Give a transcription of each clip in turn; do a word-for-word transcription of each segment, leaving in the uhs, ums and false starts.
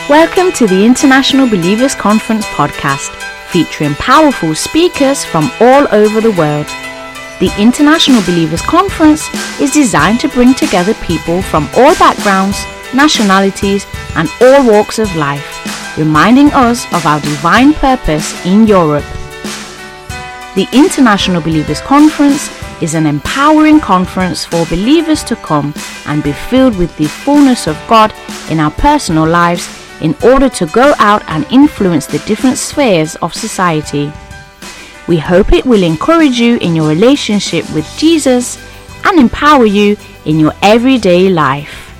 Welcome to the International Believers Conference podcast, featuring powerful speakers from all over the world. The International Believers Conference is designed to bring together people from all backgrounds, nationalities, and all walks of life, reminding us of our divine purpose in Europe. The International Believers Conference is an empowering conference for believers to come and be filled with the fullness of God in our personal lives in order to go out and influence the different spheres of society. We hope it will encourage you in your relationship with Jesus and empower you in your everyday life.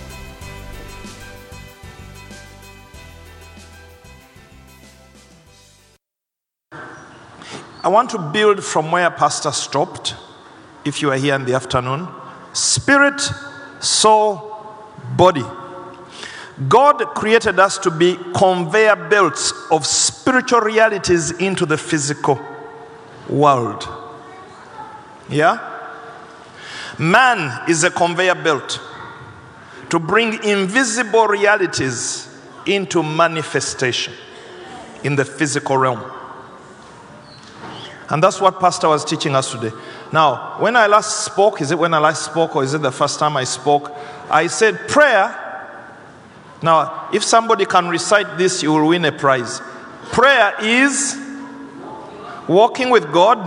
I want to build from where Pastor stopped, if you are here in the afternoon. Spirit, soul, body. God created us to be conveyor belts of spiritual realities into the physical world. Yeah? Man is a conveyor belt to bring invisible realities into manifestation in the physical realm. And that's what Pastor was teaching us today. Now, when I last spoke, is it when I last spoke or is it the first time I spoke? I said prayer. Now, if somebody can recite this, you will win a prize. Prayer is walking with God,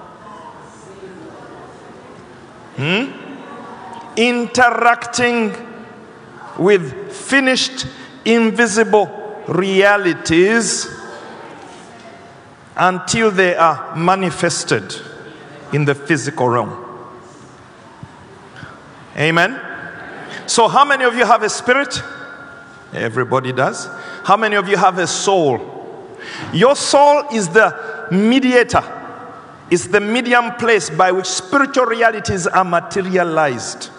hmm? interacting with finished, invisible realities until they are manifested in the physical realm. Amen? So how many of you have a spirit? Everybody does. How many of you have a soul? Your soul is the mediator. It's the medium place by which spiritual realities are materialized.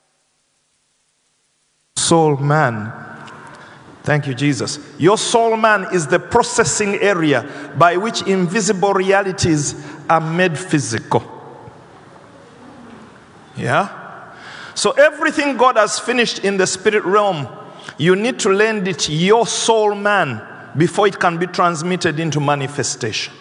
Soul man. Thank you, Jesus. Your soul man is the processing area by which invisible realities are made physical. Yeah? So everything God has finished in the spirit realm, you need to lend it your soul man before it can be transmitted into manifestation.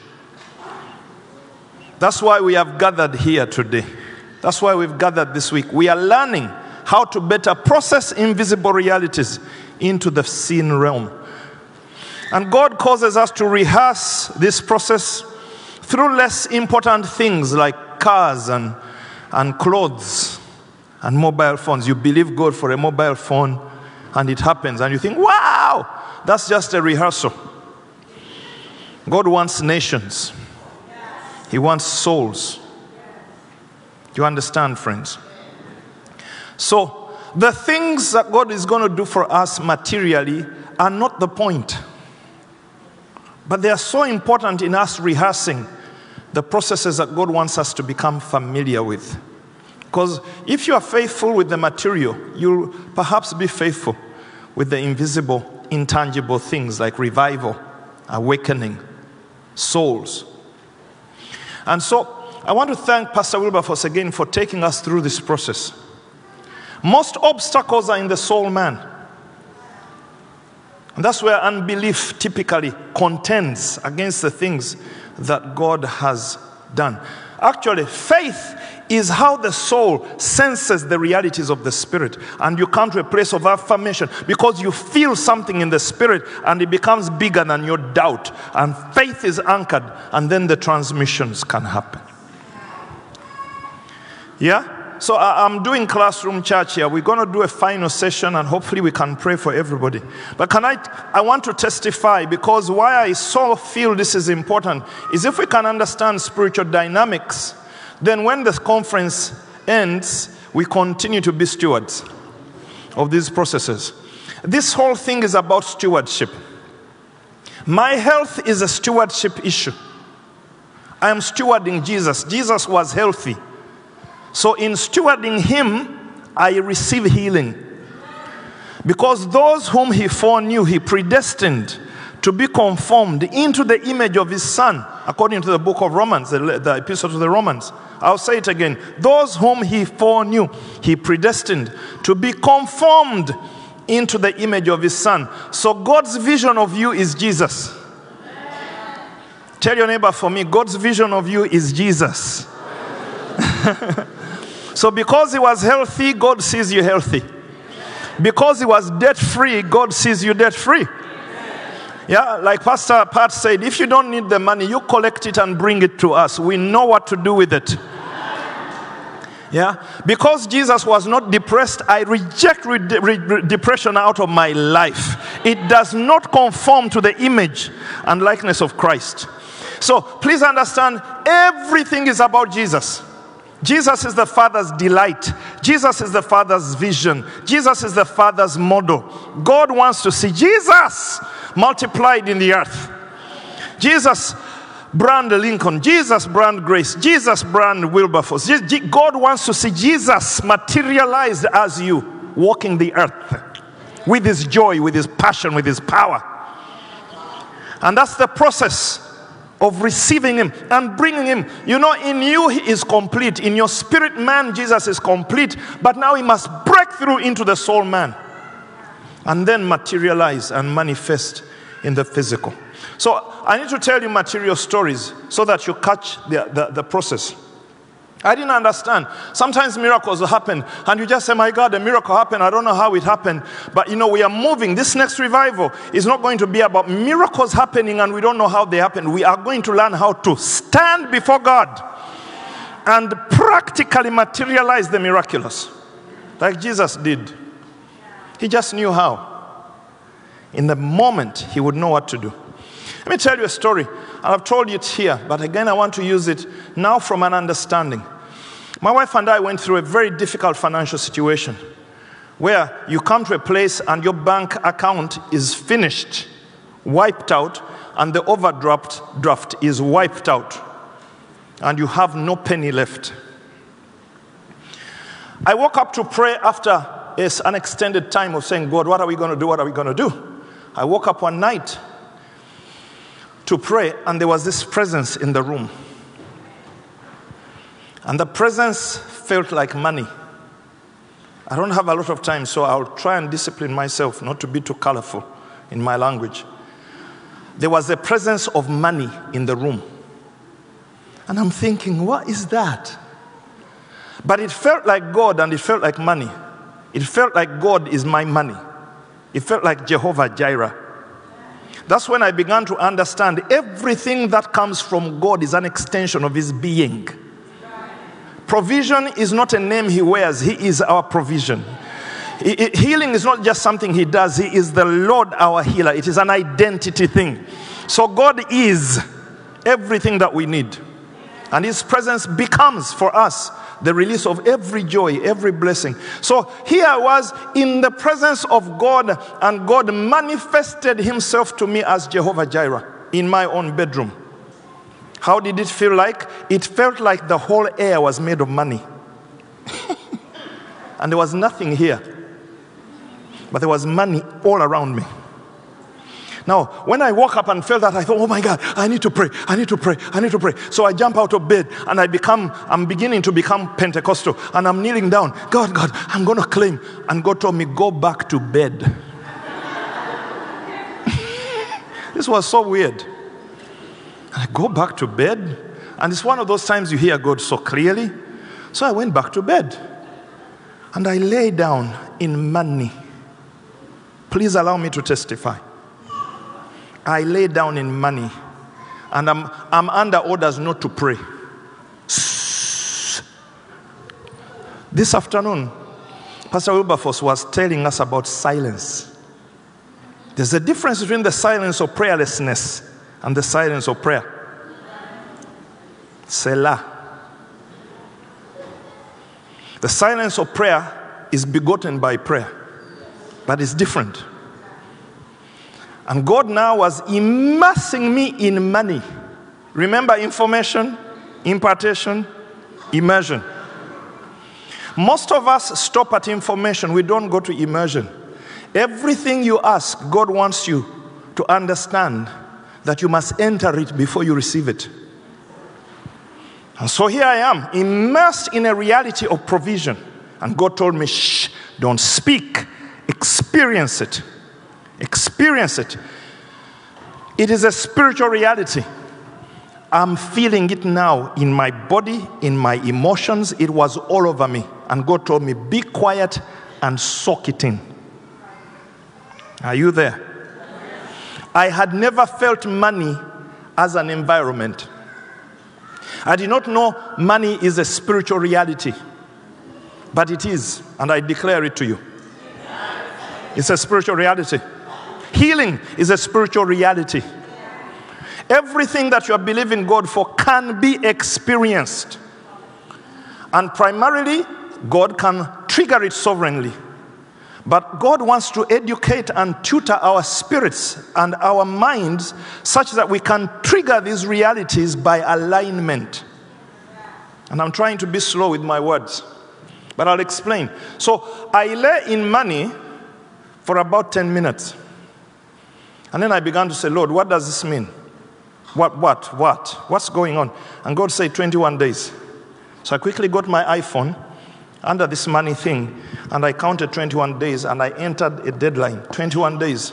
That's why we have gathered here today. That's why we've gathered this week. We are learning how to better process invisible realities into the seen realm. And God causes us to rehearse this process through less important things like cars and, and clothes and mobile phones. You believe God for a mobile phone and it happens and you think, wow, that's just a rehearsal. God wants nations. He wants souls. Do you understand, friends? So, the things that God is going to do for us materially are not the point. But they are so important in us rehearsing the processes that God wants us to become familiar with. Because if you are faithful with the material, you'll perhaps be faithful with the invisible, intangible things like revival, awakening, souls. And so, I want to thank Pastor Wilberforce again for taking us through this process. Most obstacles are in the soul man. And that's where unbelief typically contends against the things that God has done. Actually, faith is how the soul senses the realities of the spirit. And you come to a place of affirmation because you feel something in the spirit and it becomes bigger than your doubt. And faith is anchored and then the transmissions can happen. Yeah? So I'm doing classroom church here. We're going to do a final session and hopefully we can pray for everybody. But can I, I want to testify because why I so feel this is important is if we can understand spiritual dynamics, then when the conference ends, we continue to be stewards of these processes. This whole thing is about stewardship. My health is a stewardship issue. I am stewarding Jesus. Jesus was healthy. So in stewarding him, I receive healing. Because those whom he foreknew, he predestined to be conformed into the image of his Son, according to the book of Romans, the, the epistle to the Romans. I'll say it again. Those whom he foreknew, he predestined to be conformed into the image of his son. So God's vision of you is Jesus. Tell your neighbor for me, God's vision of you is Jesus. So because he was healthy, God sees you healthy. Because he was debt-free, God sees you debt-free. Yeah, like Pastor Pat said, if you don't need the money, you collect it and bring it to us. We know what to do with it. Yeah, because Jesus was not depressed, I reject re- re- depression out of my life. It does not conform to the image and likeness of Christ. So please understand, everything is about Jesus. Jesus is the Father's delight. Jesus is the Father's vision. Jesus is the Father's model. God wants to see Jesus multiplied in the earth. Jesus brand Lincoln, Jesus brand Grace, Jesus brand Wilberforce. God wants to see Jesus materialized as you, walking the earth with his joy, with his passion, with his power. And that's the process of receiving him and bringing him. You know, in you he is complete. In your spirit man, Jesus is complete. But now he must break through into the soul man and then materialize and manifest in the physical. So I need to tell you material stories so that you catch the, the, the process. I didn't understand. Sometimes miracles will happen and you just say, my God, the miracle happened. I don't know how it happened. But you know, we are moving. This next revival is not going to be about miracles happening and we don't know how they happen. We are going to learn how to stand before God and practically materialize the miraculous. Like Jesus did. He just knew how. In the moment, he would know what to do. Let me tell you a story. I've told you it here, but again, I want to use it now from an understanding. My wife and I went through a very difficult financial situation where you come to a place and your bank account is finished, wiped out, and the overdraft draft is wiped out, and you have no penny left. I woke up to pray after an extended time of saying, God, what are we going to do? What are we going to do? I woke up one night to pray, and there was this presence in the room. And the presence felt like money. I don't have a lot of time, so I'll try and discipline myself not to be too colorful in my language. There was a presence of money in the room. And I'm thinking, what is that? But it felt like God and it felt like money. It felt like God is my money. It felt like Jehovah Jireh. That's when I began to understand everything that comes from God is an extension of his being. Provision is not a name he wears. He is our provision. Healing is not just something he does. He is the Lord, our healer. It is an identity thing. So God is everything that we need. And his presence becomes for us the release of every joy, every blessing. So here I was in the presence of God, and God manifested himself to me as Jehovah Jireh in my own bedroom. How did it feel like? It felt like the whole air was made of money. And there was nothing here, but there was money all around me. Now, when I woke up and felt that, I thought, oh my God, I need to pray, I need to pray, I need to pray. So I jump out of bed and I become, I'm beginning to become Pentecostal, and I'm kneeling down. God, God, I'm going to claim. And God told me, go back to bed. This was so weird. And I go back to bed, and it's one of those times you hear God so clearly. So I went back to bed and I lay down in money. Please allow me to testify. I lay down in money, and I'm, I'm under orders not to pray. This afternoon, Pastor Wilberforce was telling us about silence. There's a difference between the silence of prayerlessness and the silence of prayer. Selah. The silence of prayer is begotten by prayer, but it's different. And God now was immersing me in money. Remember, information, impartation, immersion. Most of us stop at information. We don't go to immersion. Everything you ask, God wants you to understand that you must enter it before you receive it. And so here I am, immersed in a reality of provision. And God told me, shh, don't speak Experience it. Experience it. It is a spiritual reality. I'm feeling it now in my body, in my emotions. It was all over me. And God told me, be quiet and soak it in. Are you there? I had never felt money as an environment. I did not know money is a spiritual reality. But it is, and I declare it to you. It's a spiritual reality. Healing is a spiritual reality. Everything that you are believing God for can be experienced. And primarily, God can trigger it sovereignly. But God wants to educate and tutor our spirits and our minds such that we can trigger these realities by alignment. And I'm trying to be slow with my words, but I'll explain. So I lay in money for about ten minutes. And then I began to say, Lord, what does this mean? What, what, what? What's going on? And God said twenty-one days. So I quickly got my iPhone under this money thing, and I counted twenty-one days, and I entered a deadline, twenty-one days.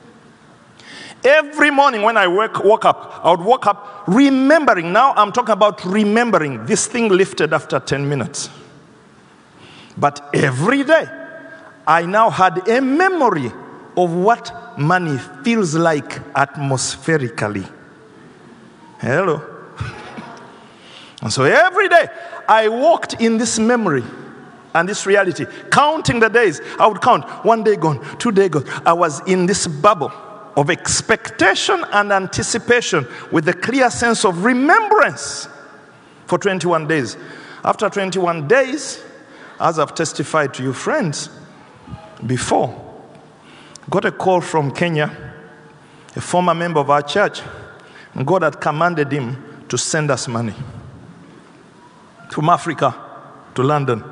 Every morning when I wake, woke up, I would wake up remembering. Now I'm talking about remembering. This thing lifted after ten minutes. But every day, I now had a memory of what money feels like atmospherically. Hello. And so every day, I walked in this memory and this reality, counting the days. I would count, one day gone, two days gone. I was in this bubble of expectation and anticipation with a clear sense of remembrance for twenty-one days. After twenty-one days, as I've testified to you friends before, got a call from Kenya, a former member of our church, and God had commanded him to send us money from Africa to London.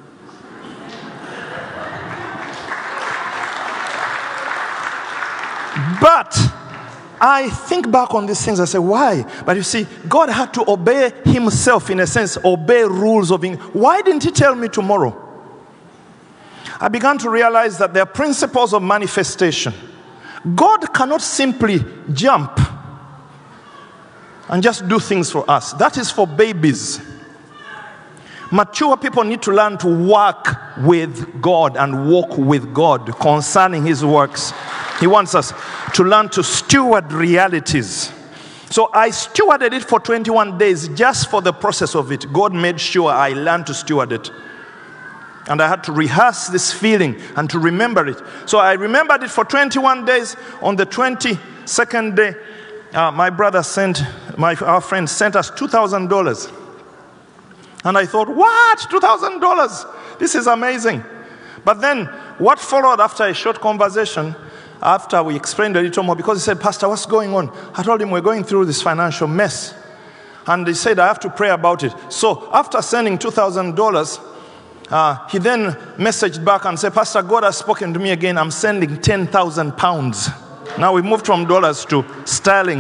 But I think back on these things, I say, why? But you see, God had to obey himself, in a sense, obey rules of him. Why didn't he tell me tomorrow? I began to realize that there are principles of manifestation. God cannot simply jump and just do things for us. That is for babies. Mature people need to learn to work with God and walk with God concerning his works. He wants us to learn to steward realities. So I stewarded it for twenty-one days just for the process of it. God made sure I learned to steward it. And I had to rehearse this feeling and to remember it. So I remembered it for twenty-one days. On the twenty-second day, uh, my brother sent, my our friend sent us two thousand dollars. And I thought, what? two thousand dollars? This is amazing. But then what followed after a short conversation, after we explained a little more, because he said, Pastor, what's going on? I told him we're going through this financial mess. And he said, I have to pray about it. So after sending two thousand dollars, uh, he then messaged back and said, Pastor, God has spoken to me again. I'm sending ten thousand pounds. Now we moved from dollars to sterling.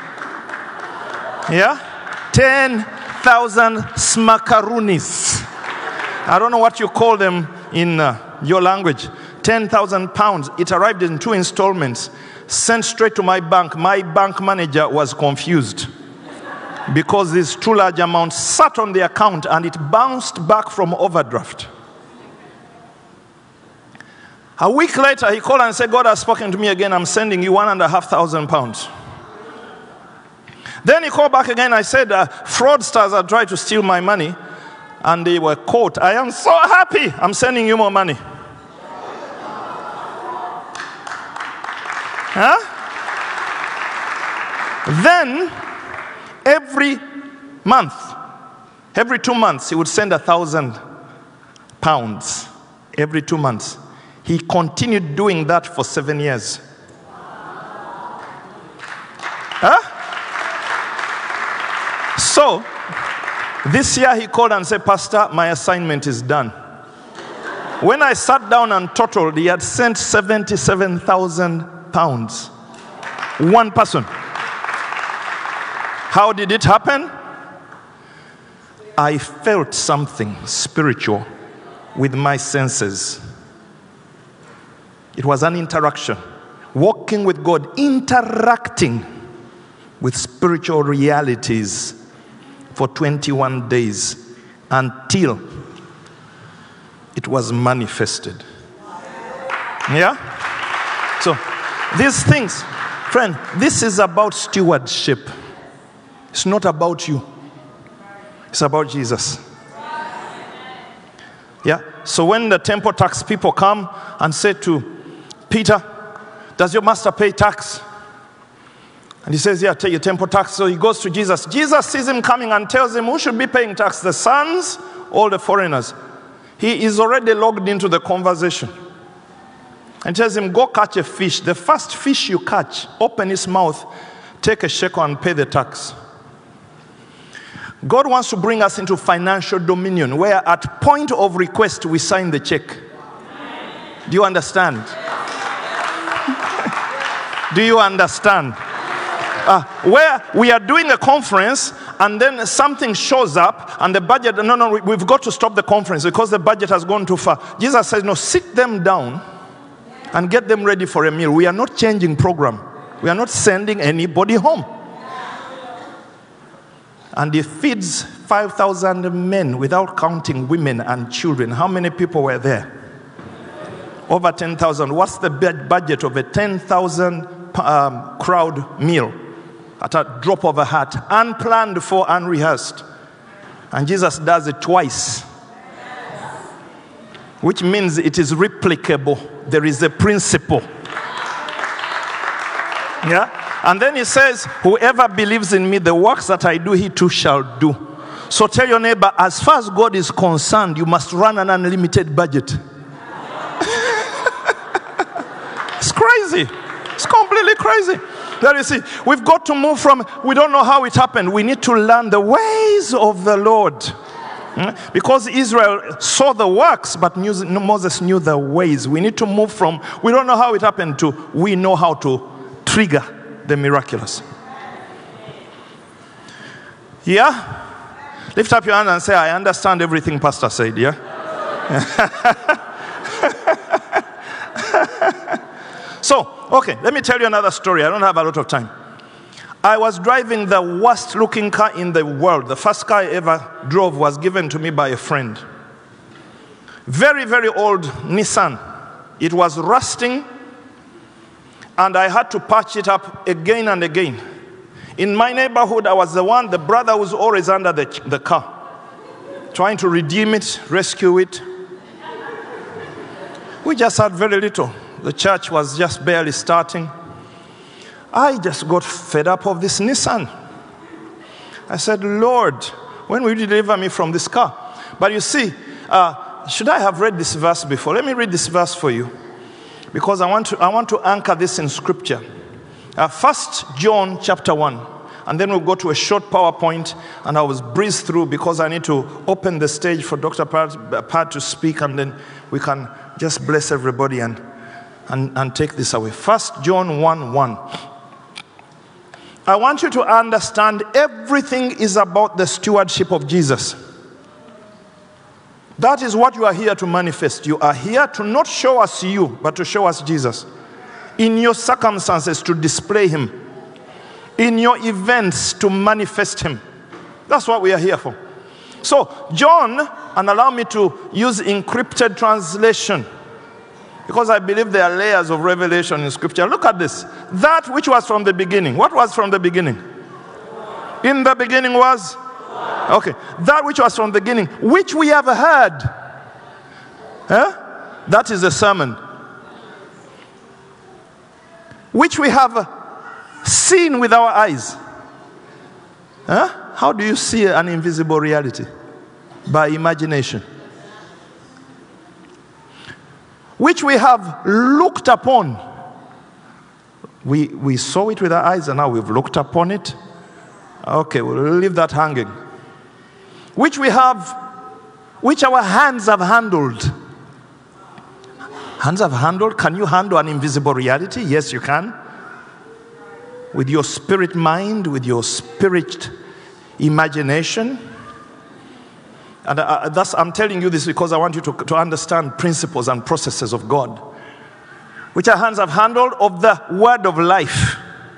Yeah? ten thousand smakarunis. I don't know what you call them in uh, your language. ten thousand pounds. It arrived in two installments, sent straight to my bank. My bank manager was confused because these two large amounts sat on the account and it bounced back from overdraft. A week later, he called and said, God has spoken to me again. I'm sending you one and a half thousand pounds. Then he called back again. I said, uh, fraudsters are trying to steal my money and they were caught. I am so happy. I'm sending you more money. Huh? Then, every month, every two months, he would send a thousand pounds. Every two months. He continued doing that for seven years. Huh? So, this year he called and said, Pastor, my assignment is done. When I sat down and totaled, he had sent seventy-seven thousand pounds. One person. How did it happen? I felt something spiritual with my senses. It was an interaction. Walking with God, interacting with spiritual realities for twenty-one days until it was manifested. Yeah? So, these things, friend, this is about stewardship. It's not about you. It's about Jesus. Yeah? So when the temple tax people come and say to Peter, does your master pay tax? And he says, yeah, take your temple tax. So he goes to Jesus. Jesus sees him coming and tells him, who should be paying tax, the sons or the foreigners? He is already logged into the conversation. And tells him, go catch a fish. The first fish you catch, open its mouth, take a shekel and pay the tax. God wants to bring us into financial dominion, where at point of request we sign the check. Do you understand? Do you understand? Uh, where we are doing a conference and then something shows up and the budget, no, no, we've got to stop the conference because the budget has gone too far. Jesus says, no, sit them down and get them ready for a meal. We are not changing program. We are not sending anybody home. And he feeds five thousand men without counting women and children. How many people were there? Over ten thousand. What's the budget of a ten thousand um, crowd meal? At a drop of a hat. Unplanned for, unrehearsed. And Jesus does it twice. Which means it is replicable. There is a principle. Yeah? And then he says, whoever believes in me, the works that I do, he too shall do. So tell your neighbor, as far as God is concerned, you must run an unlimited budget. It's crazy. It's completely crazy. There you see, we've got to move from, we don't know how it happened. We need to learn the ways of the Lord. Because Israel saw the works, but Moses knew the ways. We need to move from, we don't know how it happened, to we know how to trigger the miraculous. Yeah? Lift up your hand and say, I understand everything Pastor said, yeah? So, okay, let me tell you another story. I don't have a lot of time. I was driving the worst looking car in the world. The first car I ever drove was given to me by a friend. Very, very old Nissan. It was rusting, and I had to patch it up again and again. In my neighborhood, I was the one, the brother who was always under the, the car, trying to redeem it, rescue it. We just had very little. The church was just barely starting. I just got fed up of this Nissan. I said, Lord, when will you deliver me from this car? But you see, uh, should I have read this verse before? Let me read this verse for you, because I want to, I want to anchor this in Scripture. Uh, First John chapter one, and then we'll go to a short PowerPoint, and I will breeze through because I need to open the stage for Doctor Pat, Pat to speak, and then we can just bless everybody and, and, and take this away. First John one one. I want you to understand everything is about the stewardship of Jesus. That is what you are here to manifest. You are here to not show us you, but to show us Jesus. In your circumstances, to display him. In your events, to manifest him. That's what we are here for. So, John, and allow me to use encrypted translation, because I believe there are layers of revelation in Scripture. Look at this. That which was from the beginning. What was from the beginning? In the beginning was? Okay. That which was from the beginning, which we have heard. Huh? That is the sermon. Which we have seen with our eyes. Huh? How do you see an invisible reality? By imagination. Which we have looked upon. We, we saw it with our eyes and now we've looked upon it. Okay, we'll leave that hanging. Which we have, which our hands have handled. Hands have handled? Can you handle an invisible reality? Yes, you can. With your spirit mind, with your spirit imagination. And uh, that's, I'm telling you this because I want you to, to understand principles and processes of God. which our hands have handled, of the word of life.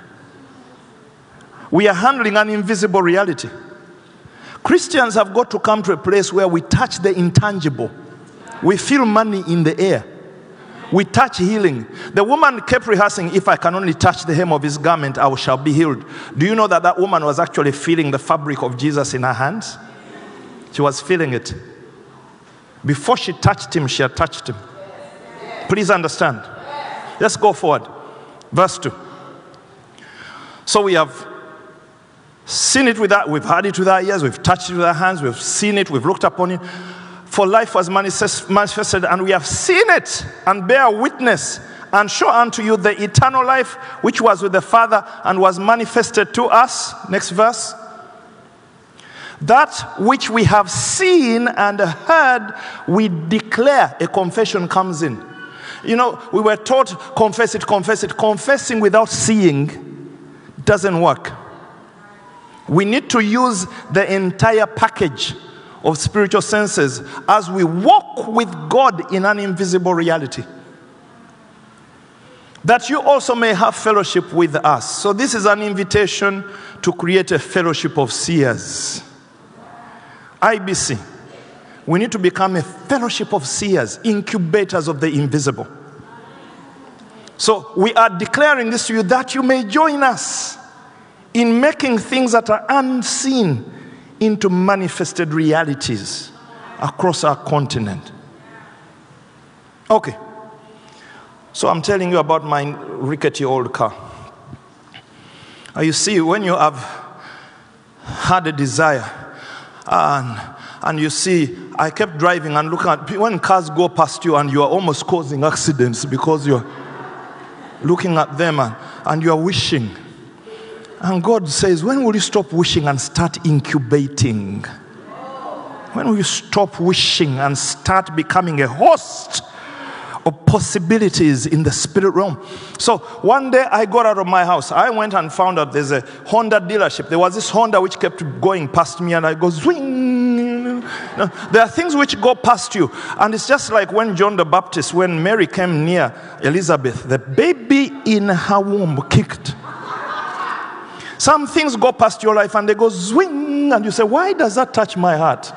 We are handling an invisible reality. Christians have got to come to a place where we touch the intangible. We feel money in the air. We touch healing. The woman kept rehearsing, if I can only touch the hem of his garment, I shall be healed. Do you know that that woman was actually feeling the fabric of Jesus in her hands? She was feeling it. Before she touched him, she had touched him. Please understand. Let's go forward. Verse two. So we have seen it with our, we've heard it with our ears, we've touched it with our hands, we've seen it, we've looked upon it. For life was manifest, manifested, and we have seen it, and bear witness, and show unto you the eternal life, which was with the Father, and was manifested to us. Next verse. That which we have seen and heard, we declare. A confession comes in. You know, we were taught, confess it, confess it. Confessing without seeing doesn't work. We need to use the entire package of spiritual senses as we walk with God in an invisible reality, that you also may have fellowship with us. So this is an invitation to create a fellowship of seers. I B C. We need to become a fellowship of seers, incubators of the invisible. So we are declaring this to you that you may join us in making things that are unseen into manifested realities across our continent. Okay. So I'm telling you about my rickety old car. Uh, you see, when you have had a desire, and, and you see, I kept driving and looking at, when cars go past you and you are almost causing accidents because you're looking at them and, and you are wishing. And God says, when will you stop wishing and start incubating? When will you stop wishing and start becoming a host of possibilities in the spirit realm? So one day I got out of my house. I went and found out there's a Honda dealership. There was this Honda which kept going past me, and I go zwing. There are things which go past you. And it's just like when John the Baptist, when Mary came near Elizabeth, the baby in her womb kicked. Some things go past your life and they go zwing, and you say, why does that touch my heart?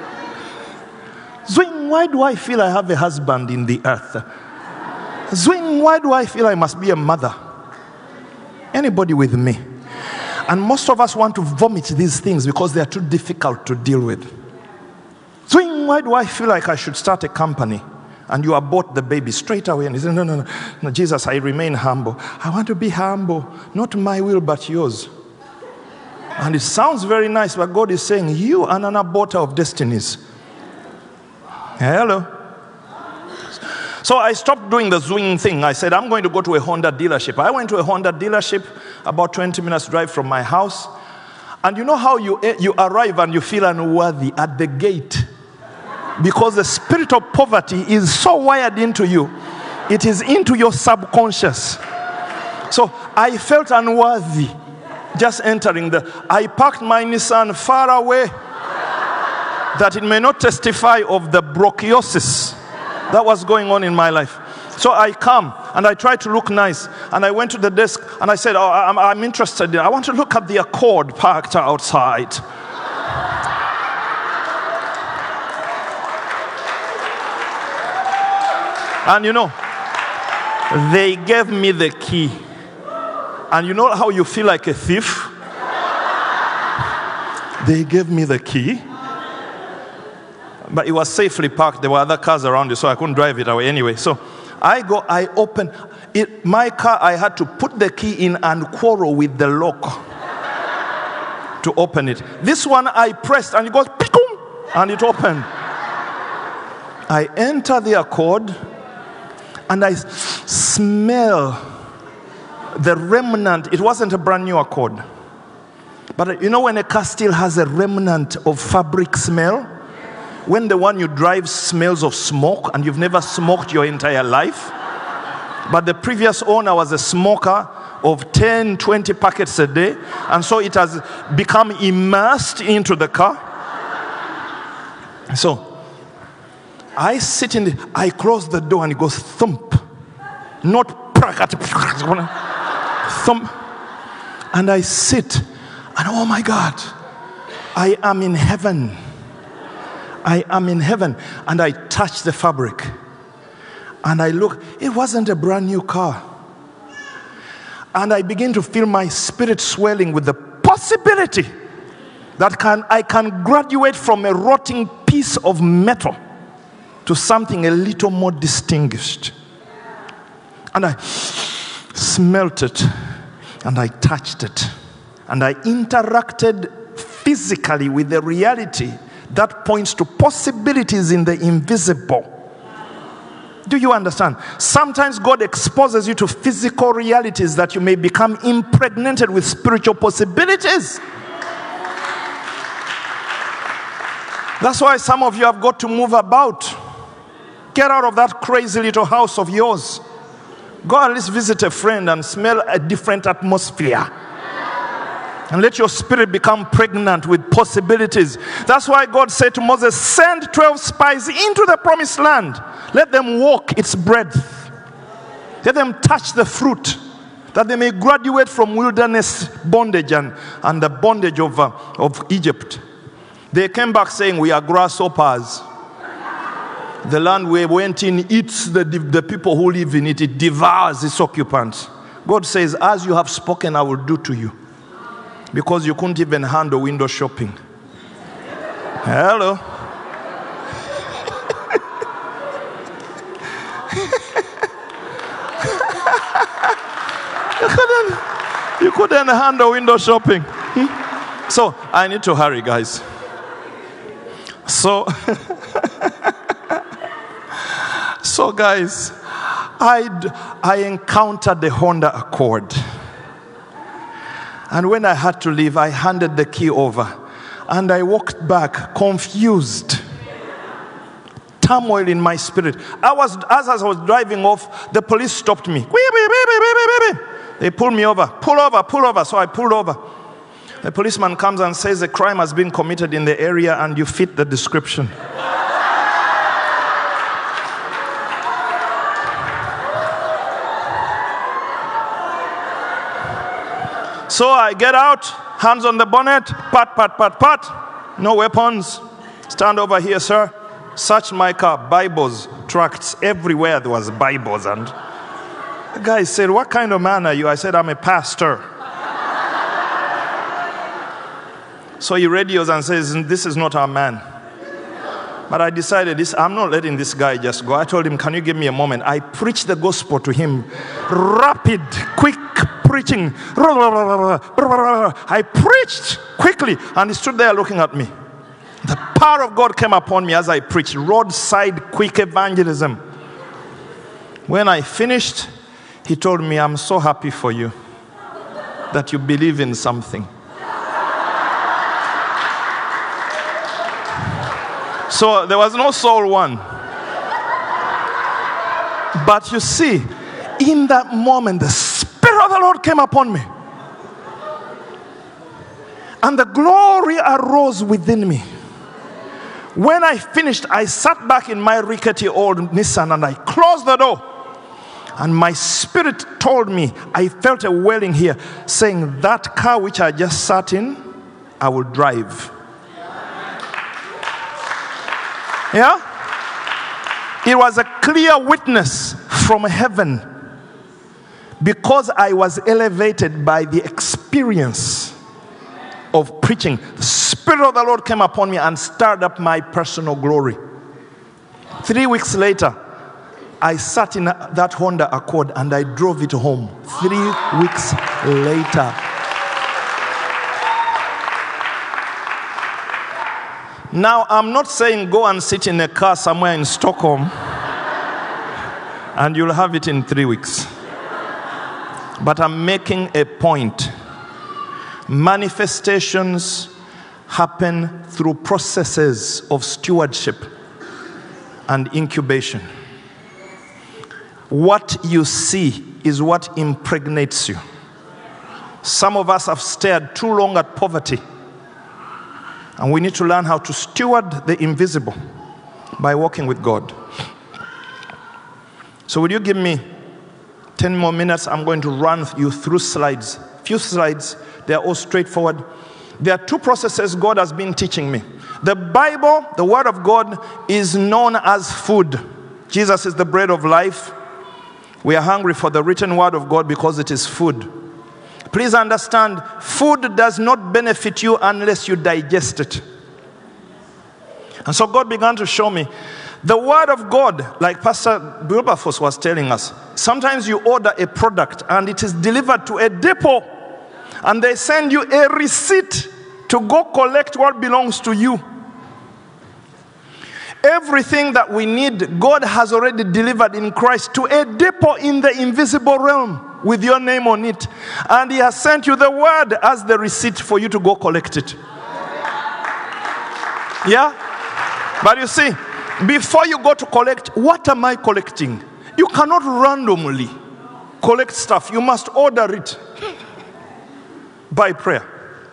Zwing, why do I feel I have a husband in the earth? Zwing, why do I feel I must be a mother? Anybody with me? And most of us want to vomit these things because they are too difficult to deal with. Zwing, why do I feel like I should start a company? And you abort the baby straight away. And you say, no, no, no, no, Jesus, I remain humble. I want to be humble. Not my will, but yours. And it sounds very nice, but God is saying, you are an aborter of destinies. Hello. So I stopped doing the zwing thing. I said, I'm going to go to a Honda dealership. I went to a Honda dealership about twenty minutes drive from my house. And you know how you, you arrive and you feel unworthy at the gate? Because the spirit of poverty is so wired into you. It is into your subconscious. So I felt unworthy just entering the... I parked my Nissan far away that it may not testify of the bronchiosis that was going on in my life. So I come and I try to look nice. And I went to the desk and I said, oh, I'm, I'm interested. I want to look at the Accord parked outside. And you know, they gave me the key. And you know how you feel like a thief? They gave me the key. But it was safely parked. There were other cars around it, so I couldn't drive it away anyway. So I go, I open it. My car, I had to put the key in and quarrel with the lock to open it. This one I pressed and it goes, and it opened. I enter the Accord. And I smell the remnant. It wasn't a brand new Accord. But you know when a car still has a remnant of fabric smell? When the one you drive smells of smoke and you've never smoked your entire life. But the previous owner was a smoker of ten, twenty packets a day. And so it has become immersed into the car. So I sit in the, I close the door and it goes thump. not prakati. Thump. And I sit, and oh my God, I am in heaven. I am in heaven. And I touch the fabric. And I look, it wasn't a brand new car. And I begin to feel my spirit swelling with the possibility that can I can graduate from a rotting piece of metal to something a little more distinguished. And I smelt it, and I touched it, and I interacted physically with the reality that points to possibilities in the invisible. Do you understand? Sometimes God exposes you to physical realities that you may become impregnated with spiritual possibilities. That's why some of you have got to move about. Get out of that crazy little house of yours. Go at least visit a friend and smell a different atmosphere. And let your spirit become pregnant with possibilities. That's why God said to Moses, send twelve spies into the promised land. Let them walk its breadth. Let them touch the fruit, that they may graduate from wilderness bondage and, and the bondage of, uh, of Egypt. They came back saying, we are grasshoppers. The land we went in eats the, the people who live in it. It devours its occupants. God says, as you have spoken, I will do to you. Because you couldn't even handle window shopping. Hello. you, couldn't, you couldn't handle window shopping. Hmm? So, I need to hurry, guys. So, so guys, I I encountered the Honda Accord. And when I had to leave, I handed the key over. And I walked back, confused. Turmoil in my spirit. I was, as I was driving off, the police stopped me. They pulled me over. Pull over, pull over. So I pulled over. The policeman comes and says, a crime has been committed in the area and you fit the description. So I get out, hands on the bonnet, pat, pat, pat, pat. No weapons. Stand over here, sir. Search my car. Bibles, tracts. Everywhere there was Bibles. And the guy said, what kind of man are you? I said, I'm a pastor. So he radios and says, this is not our man. But I decided, this, I'm not letting this guy just go. I told him, can you give me a moment? I preached the gospel to him. Rapid, quick preaching. I preached quickly, and he stood there looking at me. The power of God came upon me as I preached. Roadside quick evangelism. When I finished, he told me, I'm so happy for you that you believe in something. So there was no soul won. But you see, in that moment, the Spirit of the Lord came upon me. And the glory arose within me. When I finished, I sat back in my rickety old Nissan and I closed the door. And my spirit told me, I felt a wailing here, saying, that car which I just sat in, I will drive. Yeah? It was a clear witness from heaven because I was elevated by the experience of preaching. The Spirit of the Lord came upon me and stirred up my personal glory. Three weeks later, I sat in that Honda Accord and I drove it home. Three weeks later. Now, I'm not saying go and sit in a car somewhere in Stockholm and you'll have it in three weeks. But I'm making a point. Manifestations happen through processes of stewardship and incubation. What you see is what impregnates you. Some of us have stared too long at poverty. And we need to learn how to steward the invisible by walking with God. So will you give me ten more minutes, I'm going to run you through slides. Few slides, they're all straightforward. There are two processes God has been teaching me. The Bible, the Word of God, is known as food. Jesus is the bread of life. We are hungry for the written Word of God because it is food. Please understand, food does not benefit you unless you digest it. And so God began to show me the Word of God, like Pastor Wilberforce was telling us. Sometimes you order a product and it is delivered to a depot and they send you a receipt to go collect what belongs to you. Everything that we need, God has already delivered in Christ to a depot in the invisible realm with your name on it. And He has sent you the Word as the receipt for you to go collect it. Yeah? But you see, before you go to collect, what am I collecting? You cannot randomly collect stuff. You must order it by prayer.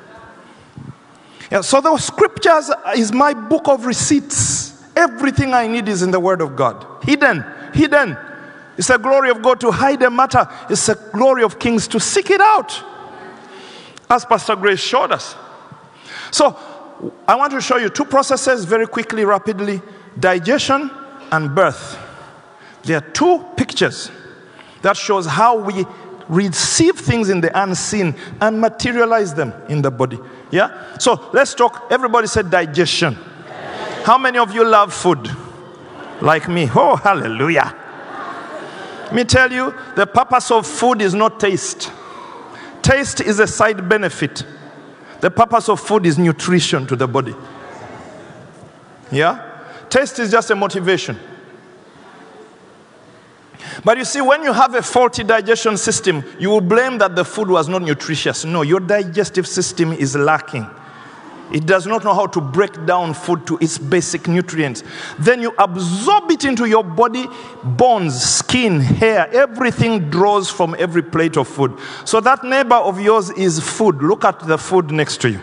Yeah, so the scriptures is my book of receipts. Everything I need is in the Word of God. Hidden, hidden. It's the glory of God to hide a matter. It's the glory of kings to seek it out. As Pastor Grace showed us. So, I want to show you two processes very quickly, rapidly. Digestion and birth. There are two pictures that shows how we receive things in the unseen and materialize them in the body. Yeah? So, let's talk. Everybody said digestion. How many of you love food? Like me. Oh, hallelujah. Let me tell you, the purpose of food is not taste. Taste is a side benefit. The purpose of food is nutrition to the body. Yeah? Taste is just a motivation. But you see, when you have a faulty digestion system, you will blame that the food was not nutritious. No, your digestive system is lacking. It does not know how to break down food to its basic nutrients. Then you absorb it into your body, bones, skin, hair, everything draws from every plate of food. So that neighbor of yours is food. Look at the food next to you.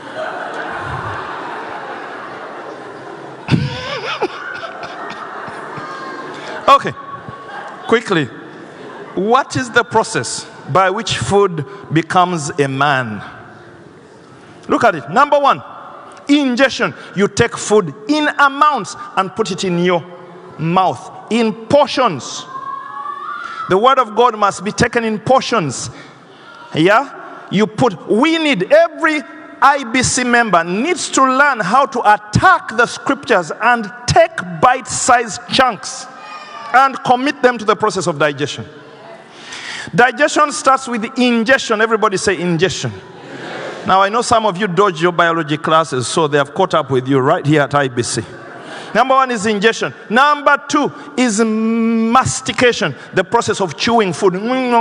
Okay, quickly. What is the process by which food becomes a man? Look at it. Number one, ingestion. You take food in amounts and put it in your mouth, in portions. The Word of God must be taken in portions. Yeah? You put, we need, every I B C member needs to learn how to attack the scriptures and take bite-sized chunks and commit them to the process of digestion. Digestion starts with ingestion. Everybody say ingestion. Now, I know some of you dodge your biology classes, so they have caught up with you right here at I B C. Number one is ingestion. Number two is mastication, the process of chewing food.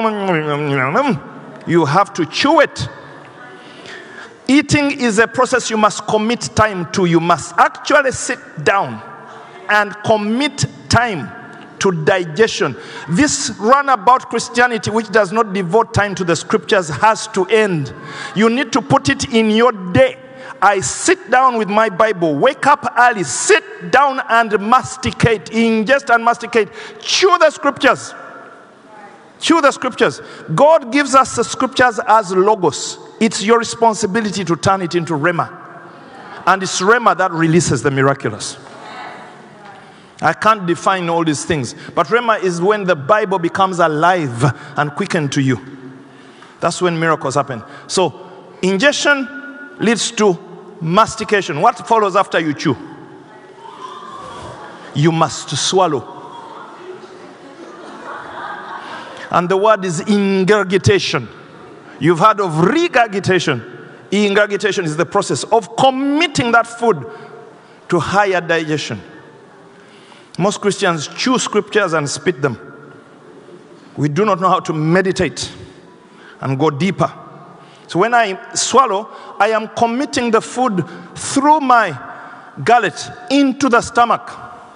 You have to chew it. Eating is a process you must commit time to. You must actually sit down and commit time to digestion. This runabout Christianity, which does not devote time to the scriptures, has to end. You need to put it in your day. I sit down with my Bible, wake up early, sit down and masticate, ingest and masticate. Chew the scriptures. Chew the scriptures. God gives us the scriptures as logos. It's your responsibility to turn it into rhema. And it's rhema that releases the miraculous. I can't define all these things. But rhema is when the Bible becomes alive and quickened to you. That's when miracles happen. So, ingestion leads to mastication. What follows after you chew? You must swallow. And the word is ingurgitation. You've heard of regurgitation. Ingurgitation is the process of committing that food to higher digestion. Most Christians chew scriptures and spit them. We do not know how to meditate and go deeper. So when I swallow, I am committing the food through my gullet into the stomach.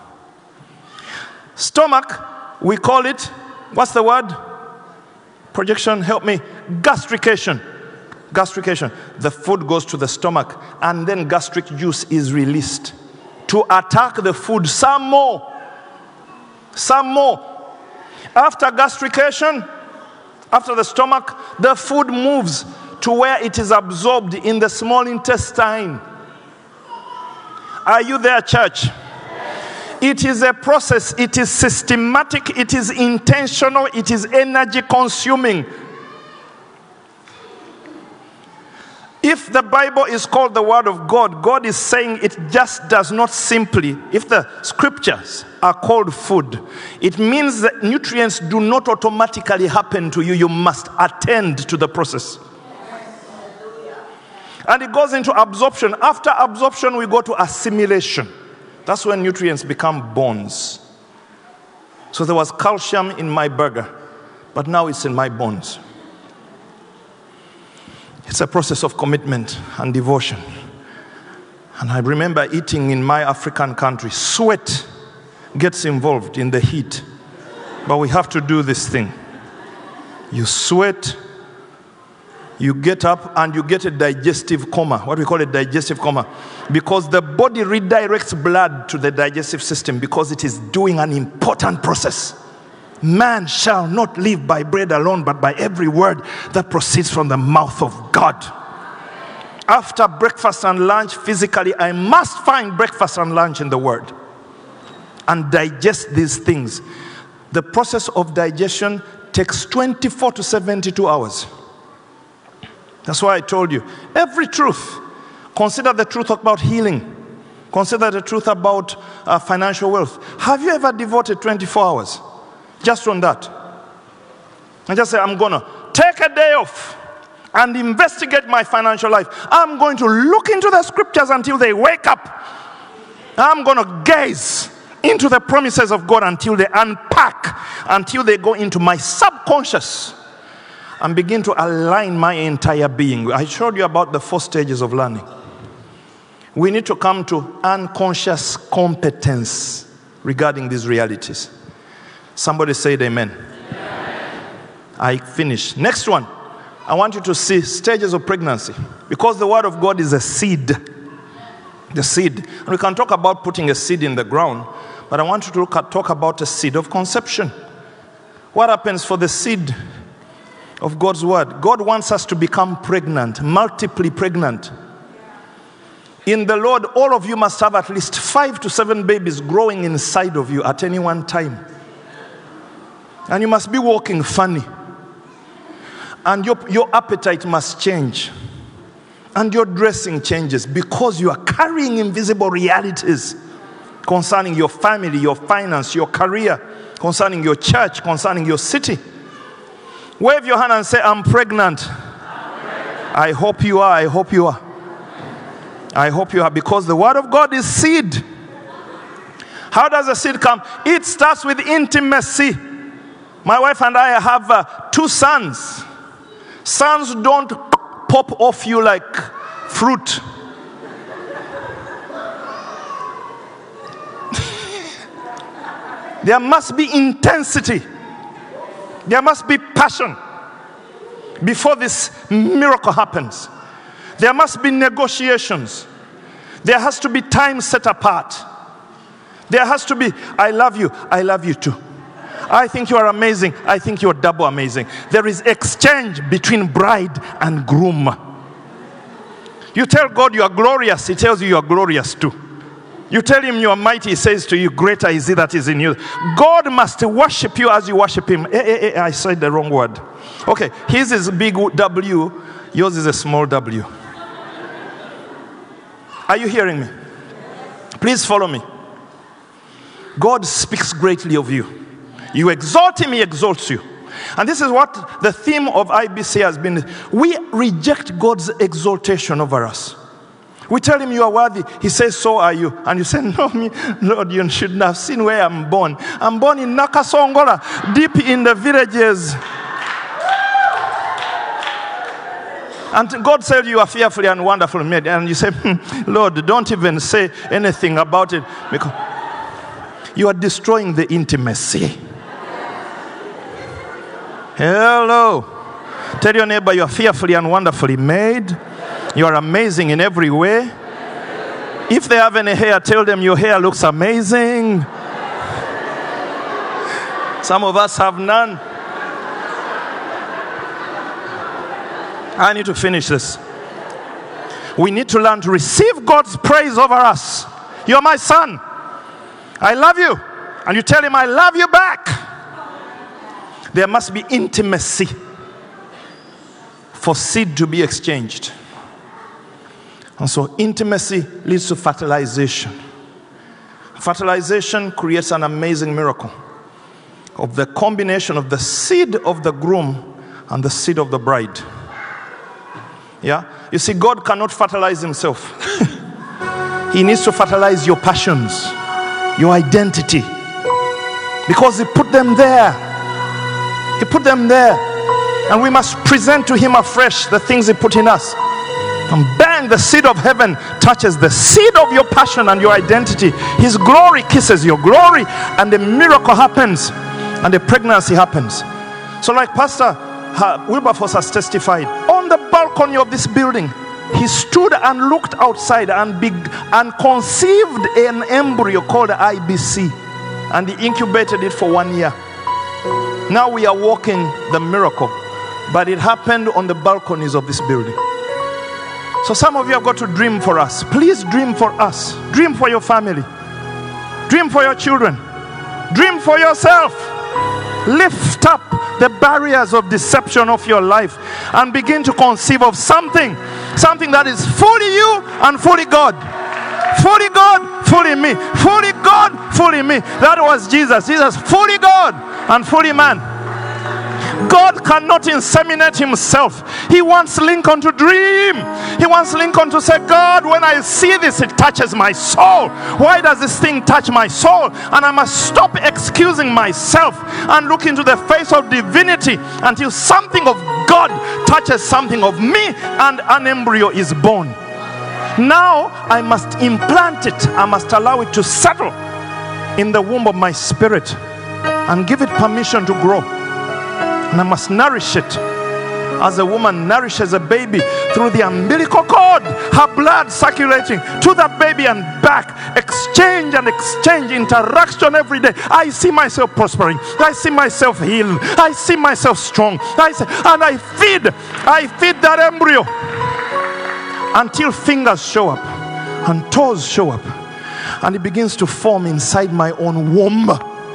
Stomach, we call it, what's the word? Projection, help me. Gastrication. Gastrication. The food goes to the stomach and then gastric juice is released to attack the food some more. Some more. After gastrication, After the stomach, the food moves to where it is absorbed in the small intestine. Are you there, church? It is a process. It is systematic. It is intentional. It is energy consuming. If the Bible is called the Word of God, God is saying it just does not simply, if the scriptures are called food, it means that nutrients do not automatically happen to you. You must attend to the process. And it goes into absorption. After absorption, we go to assimilation. That's when nutrients become bones. So there was calcium in my burger, but now it's in my bones. It's a process of commitment and devotion. And I remember eating in my African country. Sweat gets involved in the heat. But we have to do this thing. You sweat, you get up, and you get a digestive coma. What we call a digestive coma. Because the body redirects blood to the digestive system because it is doing an important process. Man shall not live by bread alone, but by every word that proceeds from the mouth of God. After breakfast and lunch, physically, I must find breakfast and lunch in the Word and digest these things. The process of digestion takes twenty-four to seventy-two hours. That's why I told you, every truth, consider the truth about healing. Consider the truth about uh, financial wealth. Have you ever devoted twenty-four hours? Just on that. And just say, I'm going to take a day off and investigate my financial life. I'm going to look into the scriptures until they wake up. I'm going to gaze into the promises of God until they unpack, until they go into my subconscious and begin to align my entire being. I showed you about the four stages of learning. We need to come to unconscious competence regarding these realities. Somebody said amen. Amen. I finish. Next one. I want you to see stages of pregnancy. Because the Word of God is a seed. The seed. And we can talk about putting a seed in the ground. But I want you to look at, talk about a seed of conception. What happens for the seed of God's Word? God wants us to become pregnant. Multiply pregnant. In the Lord, all of you must have at least five to seven babies growing inside of you at any one time. And you must be walking funny. And your, your appetite must change. And your dressing changes because you are carrying invisible realities concerning your family, your finance, your career, concerning your church, concerning your city. Wave your hand and say, I'm pregnant. I'm pregnant. I hope you are. I hope you are. I hope you are, because the Word of God is seed. How does the seed come? It starts with intimacy. My wife and I have uh, two sons. Sons don't pop off you like fruit. There must be intensity. There must be passion before this miracle happens. There must be negotiations. There has to be time set apart. There has to be, I love you, I love you too. I think you are amazing. I think you are double amazing. There is exchange between bride and groom. You tell God you are glorious, He tells you you are glorious too. You tell Him you are mighty, He says to you, greater is He that is in you. God must worship you as you worship Him. Eh, eh, eh, I said the wrong word. Okay, His is big W, yours is a small w. Are you hearing me? Please follow me. God speaks greatly of you. You exalt Him, He exalts you. And this is what the theme of I B C has been. We reject God's exaltation over us. We tell Him you are worthy. He says, so are you. And you say, no, me, Lord, you shouldn't have seen where I'm born. I'm born in Nakasongola, deep in the villages. And God said you are fearfully and wonderfully made. And you say, hmm, Lord, don't even say anything about it, because you are destroying the intimacy. Hello. Tell your neighbor you are fearfully and wonderfully made. You are amazing in every way. If they have any hair, tell them your hair looks amazing. Some of us have none. I need to finish this. We need to learn to receive God's praise over us. You're my son. I love you. And you tell him, I love you back. There must be intimacy for seed to be exchanged. And so intimacy leads to fertilization. Fertilization creates an amazing miracle of the combination of the seed of the groom and the seed of the bride. Yeah? You see, God cannot fertilize himself. He needs to fertilize your passions, your identity. Because he put them there. He put them there. And we must present to him afresh the things he put in us. And bang, the seed of heaven touches the seed of your passion and your identity. His glory kisses your glory, and the miracle happens, and the pregnancy happens. So like Pastor Wilberforce has testified, on the balcony of this building, he stood and looked outside and, beg- and conceived an embryo called I B C. And he incubated it for one year. Now we are walking the miracle. But it happened on the balconies of this building. So some of you have got to dream for us. Please dream for us. Dream for your family. Dream for your children. Dream for yourself. Lift up the barriers of deception of your life and begin to conceive of something. Something that is fully you and fully God. Fully God, fully me. Fully God, fully me. That was Jesus. Jesus, fully God and fully man. God cannot inseminate himself. He wants Lincoln to dream. He wants Lincoln to say, God, when I see this, it touches my soul. Why does this thing touch my soul? And I must stop excusing myself and look into the face of divinity until something of God touches something of me and an embryo is born. Now I must implant it. I must allow it to settle in the womb of my spirit and give it permission to grow. And I must nourish it as a woman nourishes a baby through the umbilical cord, her blood circulating to that baby and back. Exchange and exchange, interaction every day. I see myself prospering. I see myself healed. I see myself strong. I see, and I feed, I feed that embryo until fingers show up and toes show up. And it begins to form inside my own womb.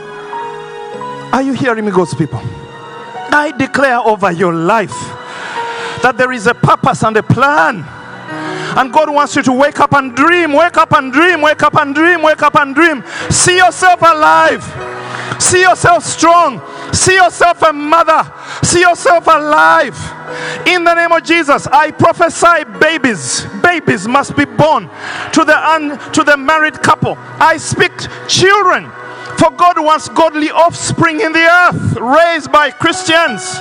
Are you hearing me, God's people? I declare over your life that there is a purpose and a plan. And God wants you to wake up and dream, wake up and dream, wake up and dream, wake up and dream. See yourself alive. See yourself strong. See yourself a mother. See yourself alive. In the name of Jesus, I prophesy babies. Babies must be born to the un, to the married couple. I speak children. For God wants godly offspring in the earth, raised by Christians.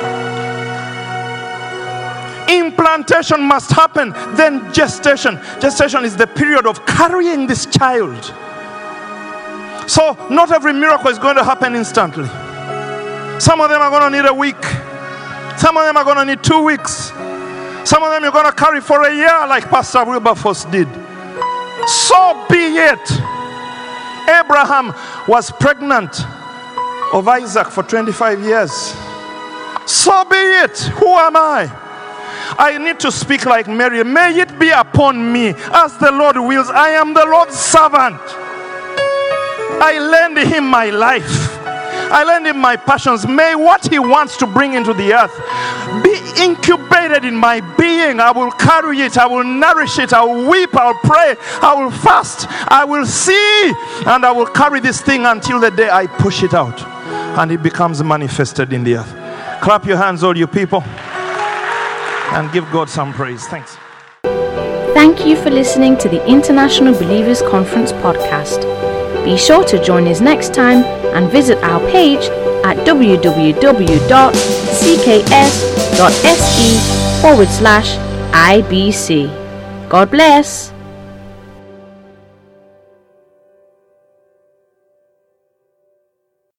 Implantation must happen, then gestation. Gestation is the period of carrying this child. So not every miracle is going to happen instantly. Some of them are going to need a week. Some of them are going to need two weeks. Some of them you're going to carry for a year like Pastor Wilberforce did. So be it. Abraham was pregnant of Isaac for twenty-five years. So be it. Who am I? I need to speak like Mary. May it be upon me as the Lord wills. I am the Lord's servant. I lend him my life. I lend him my passions. May what he wants to bring into the earth be incubated in my being. I will carry it. I will nourish it. I will weep. I will pray. I will fast. I will see. And I will carry this thing until the day I push it out. And it becomes manifested in the earth. Clap your hands, all you people. And give God some praise. Thanks. Thank you for listening to the International Believers Conference podcast. Be sure to join us next time and visit our page at w w w dot c k s dot s e forward slash I B C. God bless.